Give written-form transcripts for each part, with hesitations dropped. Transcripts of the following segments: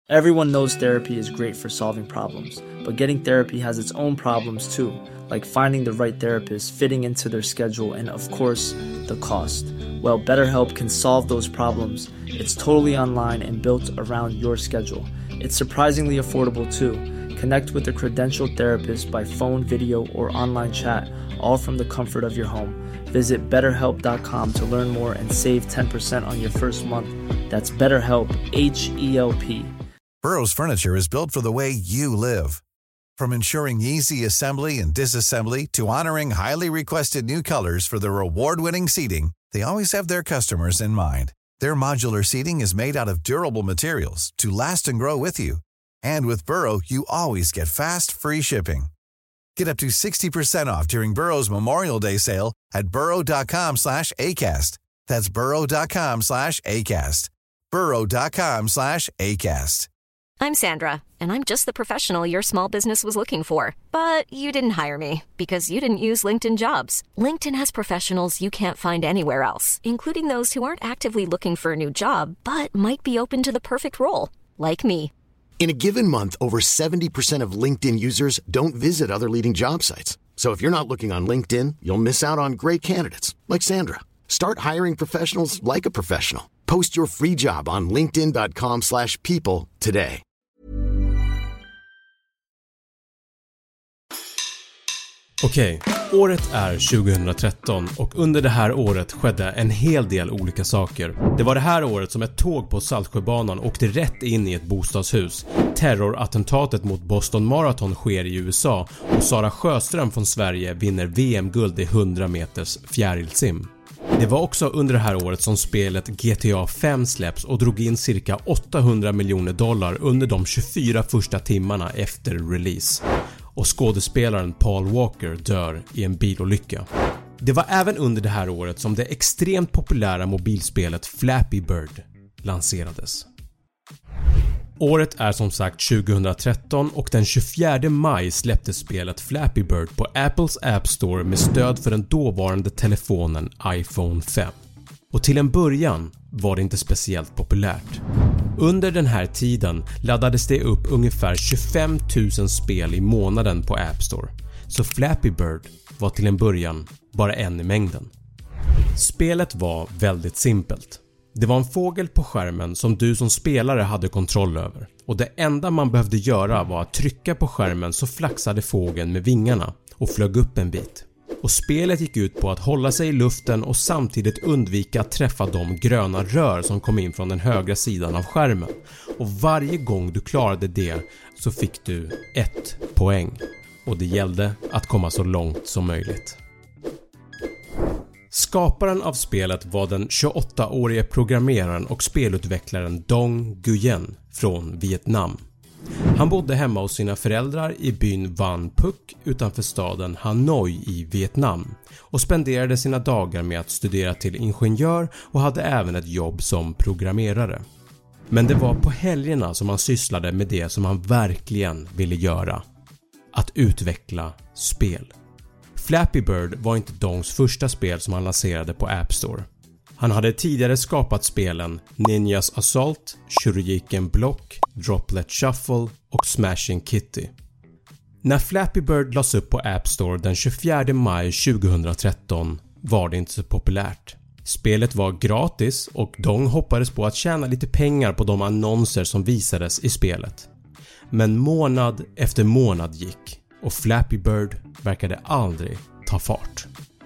Everyone knows therapy is great for solving problems, but getting therapy has its own problems too, like finding the right therapist, fitting into their schedule, and of course, the cost. Well, BetterHelp can solve those problems. It's totally online and built around your schedule. It's surprisingly affordable too. Connect with a credentialed therapist by phone, video, or online chat, all from the comfort of your home. Visit BetterHelp.com to learn more and save 10% on your first month. That's BetterHelp, H-E-L-P. Burrow's furniture is built for the way you live. From ensuring easy assembly and disassembly to honoring highly requested new colors for their award-winning seating, they always have their customers in mind. Their modular seating is made out of durable materials to last and grow with you. And with Burrow, you always get fast, free shipping. Get up to 60% off during Burrow's Memorial Day sale at burrow.com/ACAST. That's burrow.com/ACAST. burrow.com/ACAST. I'm Sandra, and I'm just the professional your small business was looking for. But you didn't hire me because you didn't use LinkedIn Jobs. LinkedIn has professionals you can't find anywhere else, including those who aren't actively looking for a new job, but might be open to the perfect role, like me. In a given month, over 70% of LinkedIn users don't visit other leading job sites. So if you're not looking on LinkedIn, you'll miss out on great candidates like Sandra. Start hiring professionals like a professional. Post your free job on linkedin.com/people today. Okej, året är 2013 och under det här året skedde en hel del olika saker. Det var det här året som ett tåg på Saltsjöbanan åkte rätt in i ett bostadshus. Terrorattentatet mot Boston Marathon sker i USA och Sara Sjöström från Sverige vinner VM-guld i 100 meters fjärilsim. Det var också under det här året som spelet GTA 5 släpps och drog in cirka $800 miljoner under de 24 första timmarna efter release. Och skådespelaren Paul Walker dör i en bilolycka. Det var även under det här året som det extremt populära mobilspelet Flappy Bird lanserades. Året är som sagt 2013 och den 24 maj släpptes spelet Flappy Bird på Apples App Store med stöd för den dåvarande telefonen iPhone 5. Och till en början var det inte speciellt populärt. Under den här tiden laddades det upp ungefär 25 000 spel i månaden på App Store. Så Flappy Bird var till en början bara en i mängden. Spelet var väldigt simpelt. Det var en fågel på skärmen som du som spelare hade kontroll över. Och det enda man behövde göra var att trycka på skärmen så flaxade fågeln med vingarna och flög upp en bit. Och spelet gick ut på att hålla sig i luften och samtidigt undvika att träffa de gröna rör som kom in från den högra sidan av skärmen. Och varje gång du klarade det så fick du 1 poäng. Och det gällde att komma så långt som möjligt. Skaparen av spelet var den 28-årige programmeraren och spelutvecklaren Dong Nguyen från Vietnam. Han bodde hemma hos sina föräldrar i byn Van Phuc utanför staden Hanoi i Vietnam och spenderade sina dagar med att studera till ingenjör och hade även ett jobb som programmerare. Men det var på helgerna som han sysslade med det som han verkligen ville göra: att utveckla spel. Flappy Bird var inte Dongs första spel som han lanserade på App Store. Han hade tidigare skapat spelen Ninjas Assault, Shuriken Block, Droplet Shuffle och Smashing Kitty. När Flappy Bird lades upp på App Store den 24 maj 2013 var det inte så populärt. Spelet var gratis och Dong hoppades på att tjäna lite pengar på de annonser som visades i spelet. Men månad efter månad gick och Flappy Bird verkade aldrig ta fart.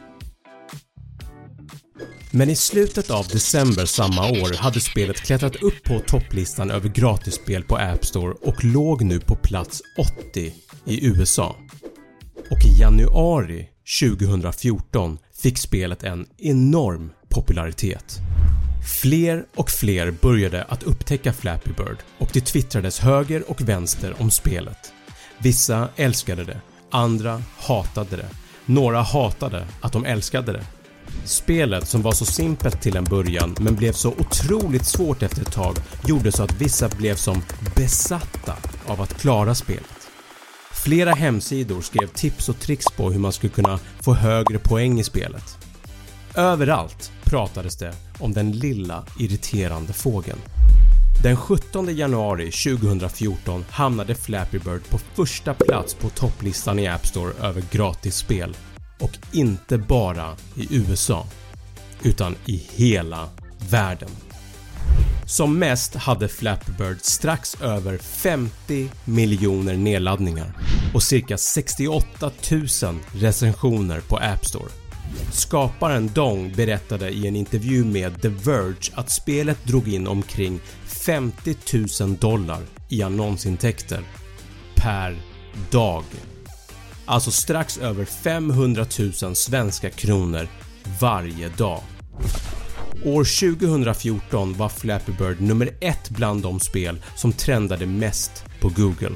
Men i slutet av december samma år hade spelet klättrat upp på topplistan över gratisspel på App Store och låg nu på plats 80 i USA. Och i januari 2014 fick spelet en enorm popularitet. Fler och fler började att upptäcka Flappy Bird och det twittrades höger och vänster om spelet. Vissa älskade det, andra hatade det. Några hatade att de älskade det. Spelet, som var så simpelt till en början men blev så otroligt svårt efter ett tag, gjorde så att vissa blev som besatta av att klara spelet. Flera hemsidor skrev tips och tricks på hur man skulle kunna få högre poäng i spelet. Överallt pratades det om den lilla irriterande fågeln. Den 17 januari 2014 hamnade Flappy Bird på första plats på topplistan i App Store över gratisspel. Och inte bara i USA, utan i hela världen. Som mest hade Flappy Bird strax över 50 miljoner nedladdningar och cirka 68 000 recensioner på App Store. Skaparen Dong berättade i en intervju med The Verge att spelet drog in omkring $50,000 i annonsintäkter per dag. Alltså strax över 500 000 svenska kronor varje dag. År 2014 var Flappy Bird nummer 1 bland de spel som trendade mest på Google.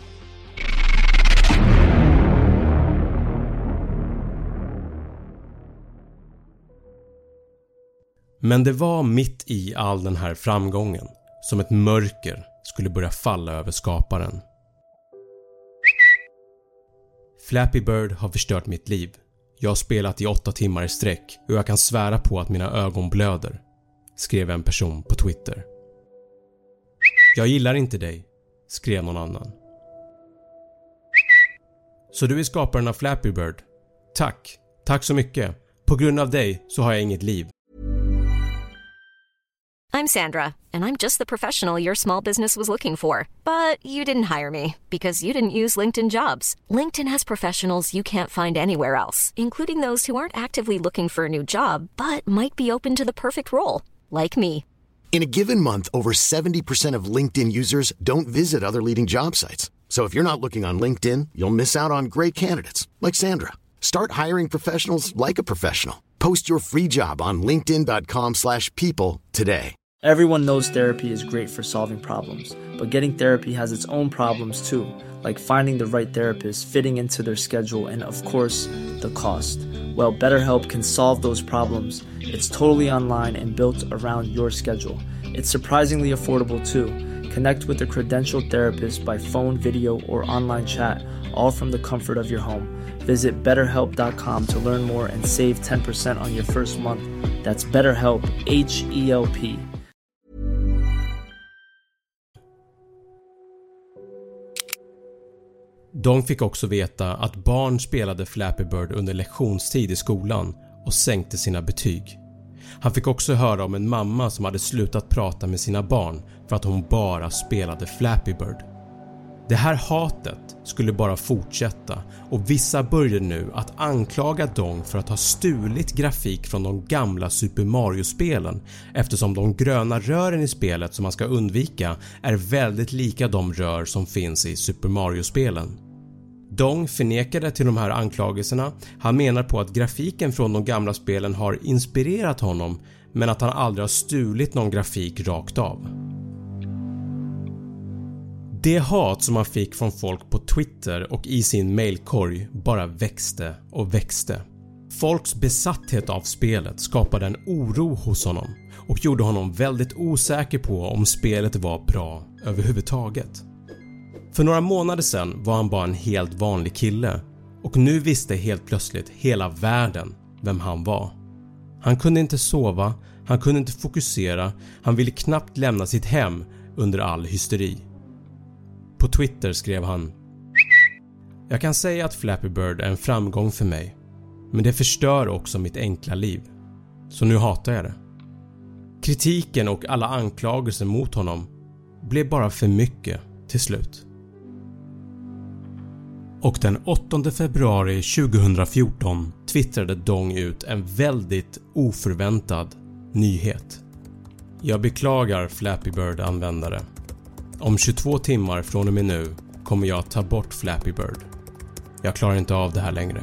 Men det var mitt i all den här framgången som ett mörker skulle börja falla över skaparen. Flappy Bird har förstört mitt liv. Jag har spelat i 8 timmar i sträck och jag kan svära på att mina ögon blöder, skrev en person på Twitter. Jag gillar inte dig, skrev någon annan. Så du är skaparen av Flappy Bird? Tack så mycket. På grund av dig så har jag inget liv. I'm Sandra, and I'm just the professional your small business was looking for. But you didn't hire me because you didn't use LinkedIn Jobs. LinkedIn has professionals you can't find anywhere else, including those who aren't actively looking for a new job, but might be open to the perfect role, like me. In a given month, over 70% of LinkedIn users don't visit other leading job sites. So if you're not looking on LinkedIn, you'll miss out on great candidates like Sandra. Start hiring professionals like a professional. Post your free job on linkedin.com/people today. Everyone knows therapy is great for solving problems, but getting therapy has its own problems too, like finding the right therapist, fitting into their schedule, and of course, the cost. Well, BetterHelp can solve those problems. It's totally online and built around your schedule. It's surprisingly affordable too. Connect with a credentialed therapist by phone, video, or online chat, all from the comfort of your home. Visit BetterHelp.com to learn more and save 10% on your first month. That's BetterHelp, H-E-L-P. De fick också veta att barn spelade Flappy Bird under lektionstid i skolan och sänkte sina betyg. Han fick också höra om en mamma som hade slutat prata med sina barn för att hon bara spelade Flappy Bird. Det här hatet skulle bara fortsätta och vissa började nu att anklaga Dong för att ha stulit grafik från de gamla Super Mario-spelen eftersom de gröna rören i spelet som man ska undvika är väldigt lika de rör som finns i Super Mario-spelen. Dong förnekade till de här anklagelserna. Han menar på att grafiken från de gamla spelen har inspirerat honom men att han aldrig har stulit någon grafik rakt av. Det hat som han fick från folk på Twitter och i sin mailkorg bara växte och växte. Folks besatthet av spelet skapade en oro hos honom och gjorde honom väldigt osäker på om spelet var bra överhuvudtaget. För några månader sedan var han bara en helt vanlig kille och nu visste helt plötsligt hela världen vem han var. Han kunde inte sova, han kunde inte fokusera, han ville knappt lämna sitt hem under all hysteri. På Twitter skrev han: Jag kan säga att Flappy Bird är en framgång för mig, men det förstör också mitt enkla liv. Så nu hatar jag det. Kritiken och alla anklagelser mot honom blev bara för mycket till slut. Och den 8 februari 2014 twittrade Dong ut en väldigt oförväntad nyhet. Jag beklagar Flappy Bird-användare. Om 22 timmar från och med nu kommer jag att ta bort Flappy Bird. Jag klarar inte av det här längre.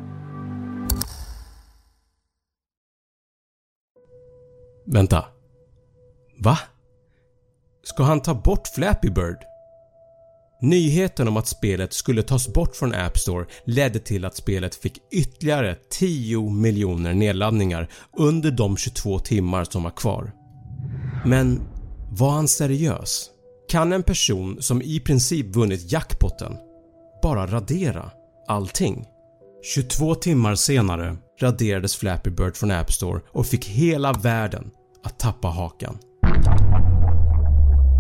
Vänta. Va? Ska han ta bort Flappy Bird? Nyheten om att spelet skulle tas bort från App Store ledde till att spelet fick ytterligare 10 miljoner nedladdningar under de 22 timmar som var kvar. Men var han seriös? Kan en person som i princip vunnit jackpotten bara radera allting? 22 timmar senare raderades Flappy Bird från App Store och fick hela världen att tappa hakan.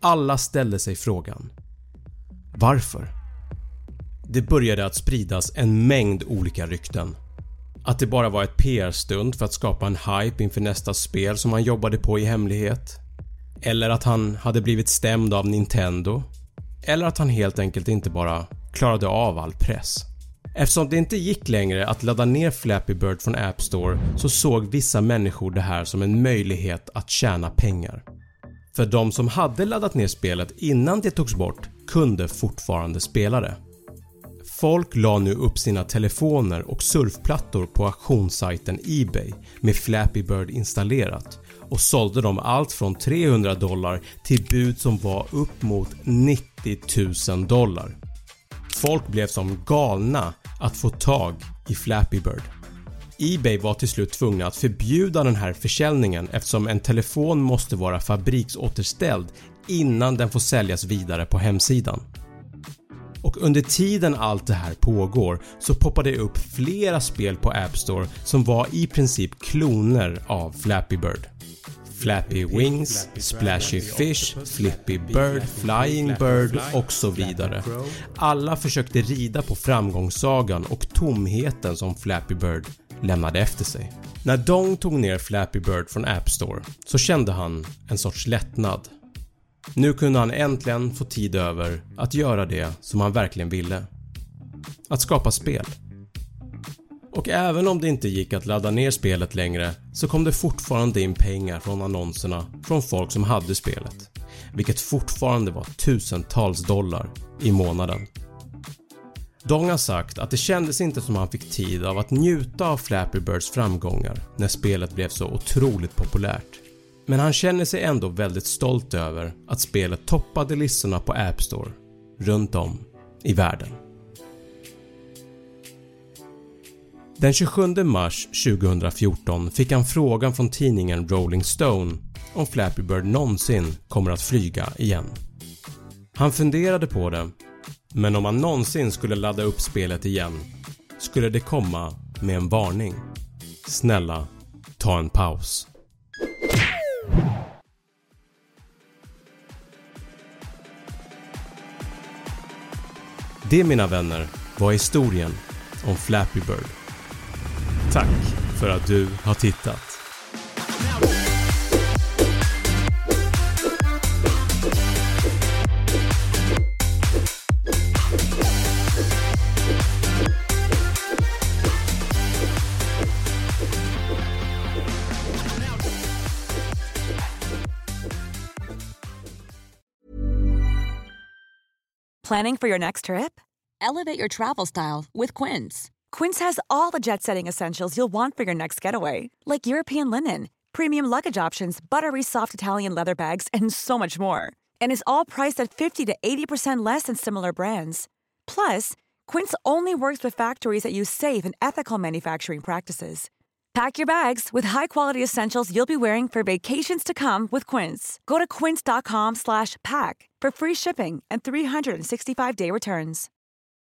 alla ställde sig frågan: varför? Det började att spridas en mängd olika rykten. Att det bara var ett PR-stunt för att skapa en hype inför nästa spel som han jobbade på i hemlighet. Eller att han hade blivit stämd av Nintendo. Eller att han helt enkelt inte bara klarade av all press. Eftersom det inte gick längre att ladda ner Flappy Bird från App Store så såg vissa människor det här som en möjlighet att tjäna pengar. För de som hade laddat ner spelet innan det togs bort kunde fortfarande spela det. Folk la nu upp sina telefoner och surfplattor på auktionssajten eBay med Flappy Bird installerat och sålde dem allt från $300 till bud som var upp mot $90,000. Folk blev som galna att få tag i Flappy Bird. eBay var till slut tvungna att förbjuda den här försäljningen eftersom en telefon måste vara fabriksåterställd innan den får säljas vidare på hemsidan. Och under tiden allt det här pågår så poppar det upp flera spel på App Store som var i princip kloner av Flappy Bird. Flappy Wings, Splashy Fish, Flippy Bird, Flying Bird och så vidare. Alla försökte rida på framgångssagan och tomheten som Flappy Bird lämnade efter sig. När Dong tog ner Flappy Bird från App Store så kände han en sorts lättnad. Nu kunde han äntligen få tid över att göra det som han verkligen ville. Att skapa spel. Och även om det inte gick att ladda ner spelet längre så kom det fortfarande in pengar från annonserna från folk som hade spelet. Vilket fortfarande var tusentals dollar i månaden. Dong har sagt att det kändes inte som han fick tid av att njuta av Flappy Birds framgångar när spelet blev så otroligt populärt. Men han känner sig ändå väldigt stolt över att spelet toppade listorna på App Store runt om i världen. Den 27 mars 2014 fick han frågan från tidningen Rolling Stone om Flappy Bird någonsin kommer att flyga igen. Han funderade på det, men om han någonsin skulle ladda upp spelet igen skulle det komma med en varning. Snälla, ta en paus. Det, mina vänner, var historien om Flappy Bird. Tack för att du har tittat. Planning for your next trip? Elevate your travel style with Quince. Quince has all the jet-setting essentials you'll want for your next getaway, like European linen, premium luggage options, buttery soft Italian leather bags, and so much more. And is all priced at 50 to 80% less than similar brands. Plus, Quince only works with factories that use safe and ethical manufacturing practices. Pack your bags with high-quality essentials you'll be wearing for vacations to come with Quince. Go to quince.com/pack for free shipping and 365-day returns.